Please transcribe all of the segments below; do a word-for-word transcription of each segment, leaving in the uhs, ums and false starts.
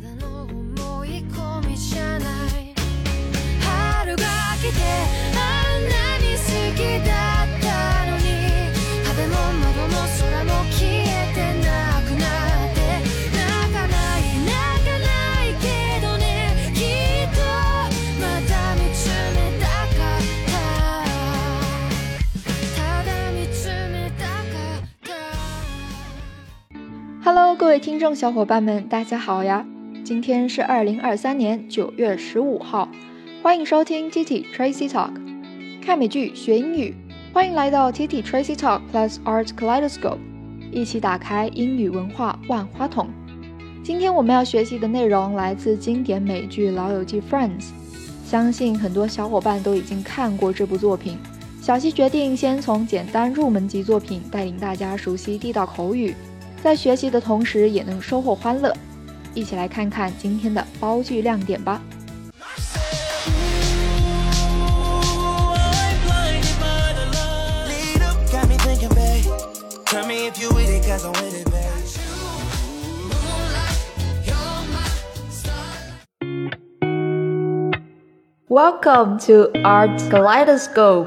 Hello， 各位听众小伙伴们，大家好呀！今天是二零二三年九月十五号，欢迎收听 Titi Tracy Talk， 看美剧学英语，欢迎来到 Titi Tracy Talk Plus Art Kaleidoscope， 一起打开英语文化万花筒。今天我们要学习的内容来自经典美剧《老友记 Friends》，相信很多小伙伴都已经看过这部作品。小溪决定先从简单入门级作品带领大家熟悉地道口语，在学习的同时也能收获欢乐。一起来看看今天的包句亮点吧。Welcome to Art Kaleidoscope。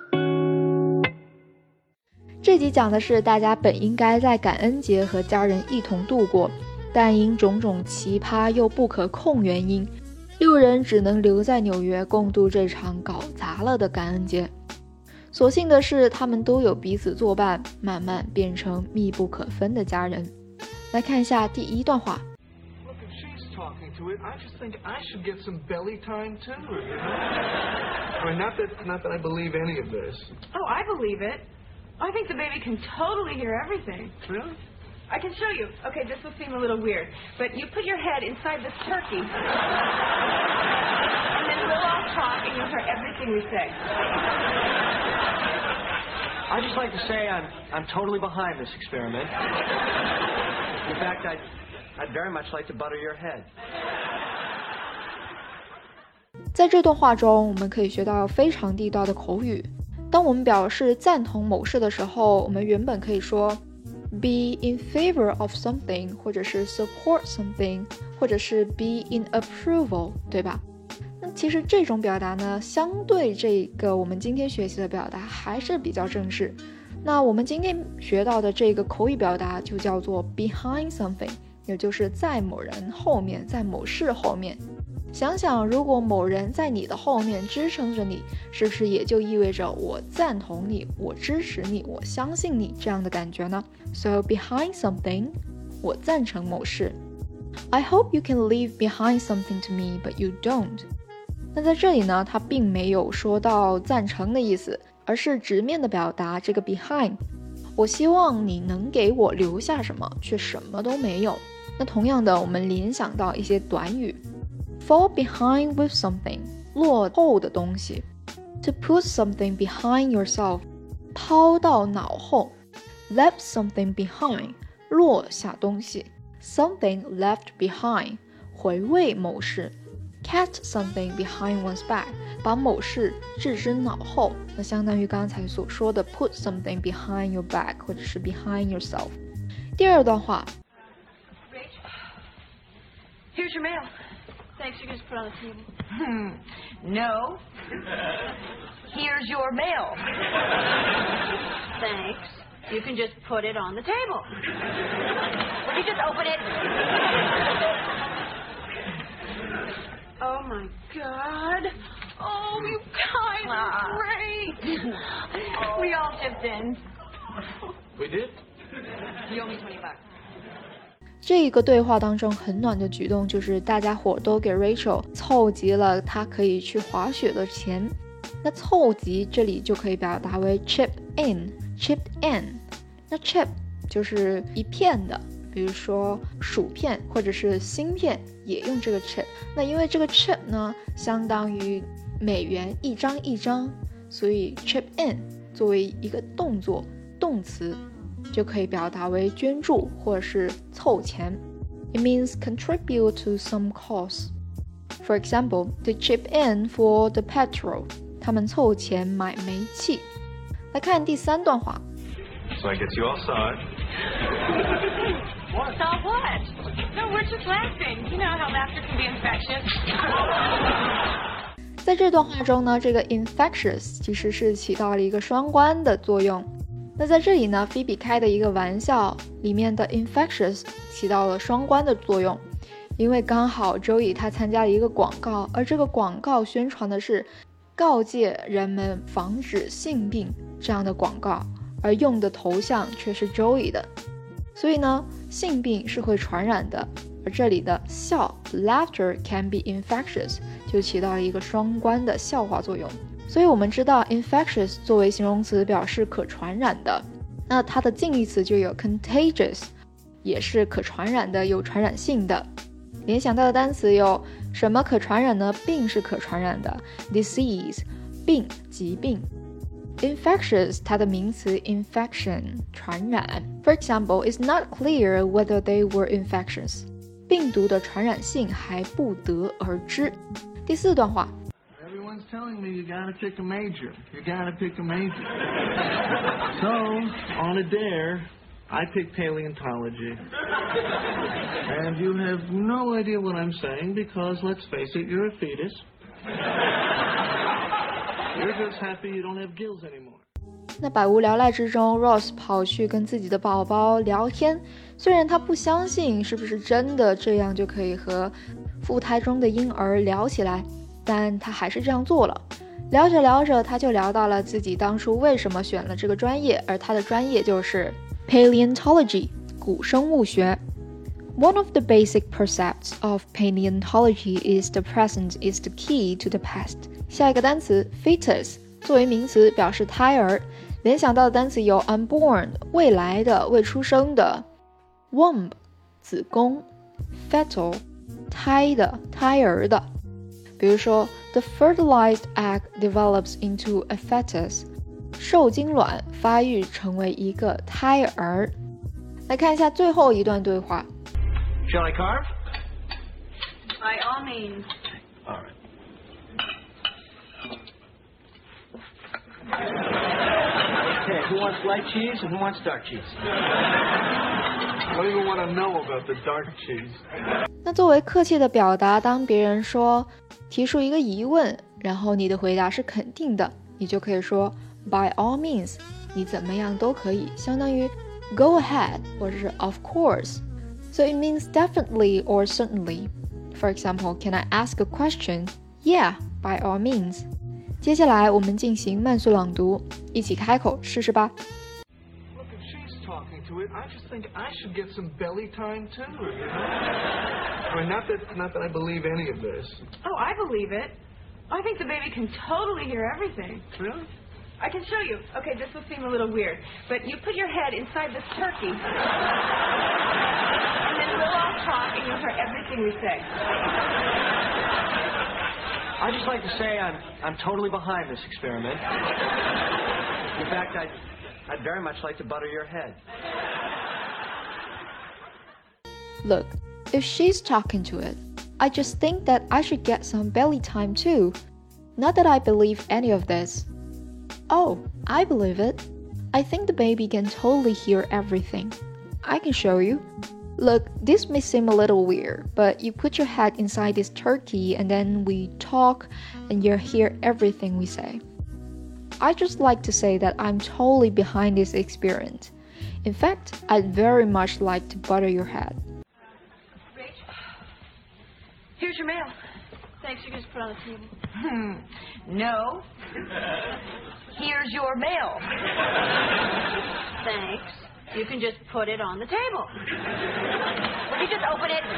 这集讲的是大家本应该在感恩节和家人一同度过，但因种种奇葩又不可控原因，六人只能留在纽约共度这场搞砸了的感恩节。所幸的是，他们都有彼此作伴，慢慢变成密不可分的家人。来看一下第一段话。 Talking to it, I just think I should get some belly time too. You know? I mean, not that, not that I believe any of this. Oh, I believe it. I think the baby can totally hear everything. Really? I can show you. Okay, this will seem a little weird, but you put your head inside this turkey, and then we'll all talk, and you'll hear everything we say. I'd just like to say I'm I'm totally behind this experiment. In fact, I. I'd very much like to butter your head. 在这段话中，我们可以学到非常地道的口语。当我们表示赞同某事的时候，我们原本可以说 be in favor of something， 或者是 support something， 或者是 be in approval， 对吧？那其实这种表达呢，相对这个我们今天学习的表达还是比较正式。那我们今天学到的这个口语表达就叫做 behind something，也就是在某人后面，在某事后面。想想如果某人在你的后面支撑着你，是不是也就意味着我赞同你，我支持你，我相信你这样的感觉呢？ So behind something， 我赞成某事。 I hope you can leave behind something to me, but you don't。 那在这里呢，它并没有说到赞成的意思，而是直面的表达这个 behind， 我希望你能给我留下什么，却什么都没有。那同样的，我们联想到一些短语 fall behind with something， 落后的东西， to put something behind yourself， 抛到脑后， left something behind， 落下东西， something left behind， 回味某事， cast something behind one's back， 把某事置之脑后，那相当于刚才所说的 put something behind your back， 或者是 behind yourself。 第二段话 Here's your mail. Thanks, you can just put it on the table. Hmm. No. Here's your mail. Thanks. You can just put it on the table. Will you just open it? Oh my God. Oh, you guys are great. We all chipped in. We did? You owe me twenty bucks. 这一个对话当中很暖的举动就是大家伙都给 Rachel 凑集了她可以去滑雪的钱。那凑集这里就可以表达为 chip in， chip in。 那 chip 就是一片的，比如说薯片或者是芯片也用这个 chip。 那因为这个 chip 呢相当于美元一张一张，所以 chip in 作为一个动作动词就可以表达为捐助或者是凑钱。 It means contribute to some cause. For example, to chip in for the petrol. 他们凑钱买煤气。来看第三段话。 So I guess you all saw it. What? Saw what? No, we're just laughing. You know how laughter can be infectious. 在这段话中呢，这个 infectious 其实是起到了一个双关的作用。那在这里呢 Phoebe 开的一个玩笑里面的 infectious 起到了双关的作用，因为刚好周乙他参加了一个广告，而这个广告宣传的是告诫人们防止性病这样的广告，而用的头像却是周乙的，所以呢性病是会传染的，而这里的笑 laughter can be infectious 就起到了一个双关的笑话作用。所以我们知道 infectious 作为形容词表示可传染的，那它的近义词就有 contagious 也是可传染的，有传染性的。联想到的单词有什么可传染呢？病是可传染的 disease 病疾病。 infectious 它的名词 infection 传染。 For example, it's not clear whether they were infectious 病毒的传染性还不得而知。第四段话 Everyone's telling me you gotta pick a major. You gotta pick a major. So, on a dare, I picked paleontology. And you have no idea what I'm saying because, let's face it, you're a fetus. You're just happy you don't have gills anymore. 那百无聊赖之中 Ross 跑去跟自己的宝宝聊天，虽然他不相信是不是真的这样就可以和腹胎中的婴儿聊起来，但他还是这样做了。聊着聊着他就聊到了自己当初为什么选了这个专业，而他的专业就是 paleontology 古生物学。 One of the basic precepts of paleontology is the present is the key to the past。 下一个单词 fetus 作为名词表示胎儿，联想到的单词有 unborn 未来的未出生的， womb 子宫， fetal 胎的胎儿的。比如说 the fertilized egg develops into a fetus 受精卵发育成为一个胎儿。来看一下最后一段对话。 Shall I carve? By all means. All right. Okay, who wants light cheese and who wants dark cheese? I don't even want to know about the dark cheese. 那作为客气的表达，当别人说提出一个疑问，然后你的回答是肯定的，你就可以说 by all means 你怎么样都可以，相当于 go ahead 或者是 of course. So it means definitely or certainly. For example, can I ask a question? Yeah, by all means. 接下来我们进行慢速朗读，一起开口试试吧。 Look, if she's talking to it, I just think I should get some belly time too, you know? I mean, not that, not that I believe any of this. Oh, I believe it. I think the baby can totally hear everything. Really? I can show you. Okay, this will seem a little weird, but you put your head inside this turkey, and then we'll all talk, and you'll hear everything we say. I'd just like to say I'm, I'm totally behind this experiment. In fact, I'd, I'd very much like to butter your head. Look, if she's talking to it, I just think that I should get some belly time too. Not that I believe any of this. Oh, I believe it. I think the baby can totally hear everything. I can show you. Look, this may seem a little weird, but you put your head inside this turkey and then we talk and you'll hear everything we say. I just like to say that I'm totally behind this experiment. In fact, I'd very much like to butter your head. Rach, here's your mail. Thanks, you can just put it on the table. Hmm. No. Here's your mail. Thanks. You can just put it on the table. Will you just open it?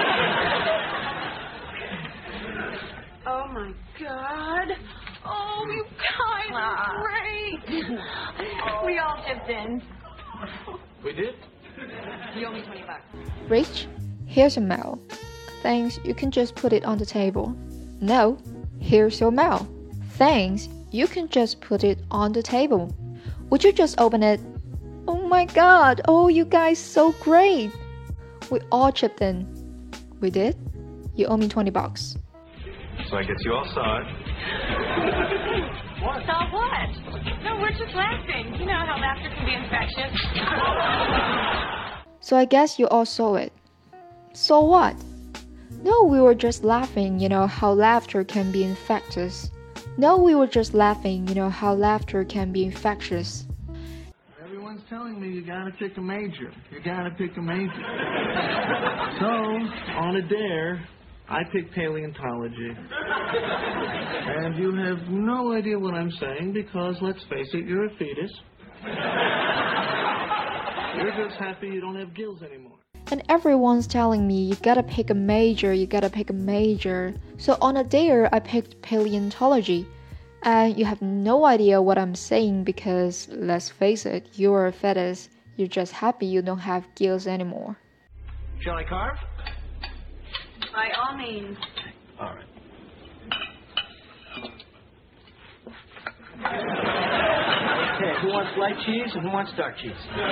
Oh, my God. Oh, you guys are great. We all chipped in. We did? You owe me twenty bucks. Rich, here's your mail. Thanks, you can just put it on the table. No, here's your mail. Thanks, you can just put it on the table. Would you just open it? Oh my God, oh you guys so great. We all chipped in. We did? You owe me twenty bucks. So I guess you all saw it. What? Saw what? No, we're just laughing. You know how laughter can be infectious. So I guess you all saw it. So what? No, we were just laughing, you know how laughter can be infectious. No, we were just laughing, you know how laughter can be infectious. Everyone's telling me you gotta pick a major. You gotta pick a major. So, on a dare, I picked paleontology. And you have no idea what I'm saying because, let's face it, you're a fetus. You're just happy you don't have gills anymore. And everyone's telling me you gotta pick a major, you gotta pick a major. So on a dare, I picked paleontology. And you have no idea what I'm saying because, let's face it, you're a fetus. You're just happy you don't have gills anymore. Shall I carve? By all means. All right. Okay, who wants light cheese and who wants dark cheese?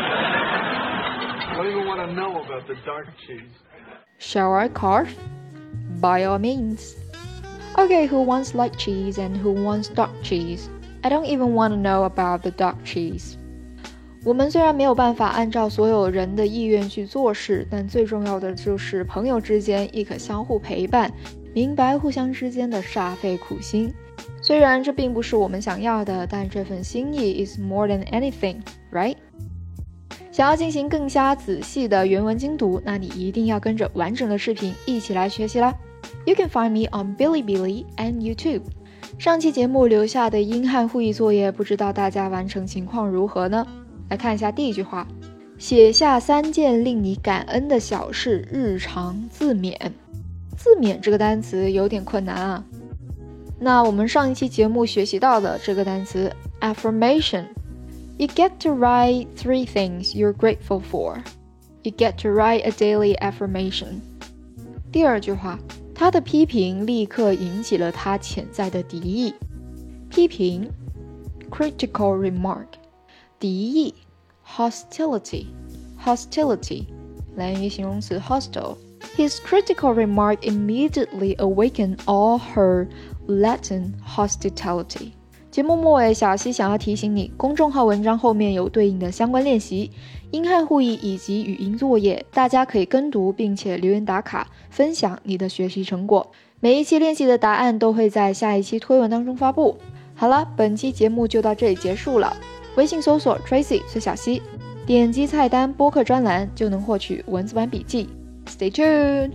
I don't even want to know about the dark cheese. Shall I carve? By all means. Okay, who wants light cheese and who wants dark cheese? I don't even want to know about the dark cheese. 我们虽然没有办法按照所有人的意愿去做事，但最重要的就是朋友之间亦可相互陪伴，明白互相之间的煞费苦心。虽然这并不是我们想要的，但这份心意 is more than anything, right? 想要进行更加仔细的原文精读，那你一定要跟着完整的视频一起来学习啦。You can find me on Bilibili and YouTube. 上期节目留下的英汉互译作业，不知道大家完成情况如何呢？来看一下第一句话，写下三件令你感恩的小事，日常自勉。自勉这个单词有点困难啊。那我们上一期节目学习到的这个单词 affirmation。You get to write three things you're grateful for. You get to write a daily affirmation. 第二句话，他的批评立刻引起了他潜在的敌意。批评 critical remark， 敌意 hostility hostility 来源于形容词 hostile。 His critical remark immediately awakened all her latent hostility。节目末尾，小溪想要提醒你，公众号文章后面有对应的相关练习、英汉互译以及语音作业，大家可以跟读并且留言打卡，分享你的学习成果。每一期练习的答案都会在下一期推文当中发布。好了，本期节目就到这里结束了。微信搜索 Tracy 崔小溪，点击菜单播客专栏就能获取文字版笔记。Stay tuned。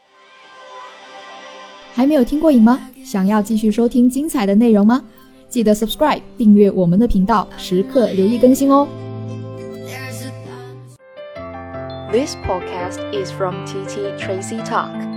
还没有听过瘾吗？想要继续收听精彩的内容吗？记得 subscribe 订阅我们的频道，时刻留意更新哦。 This podcast is from T T Tracy Talk.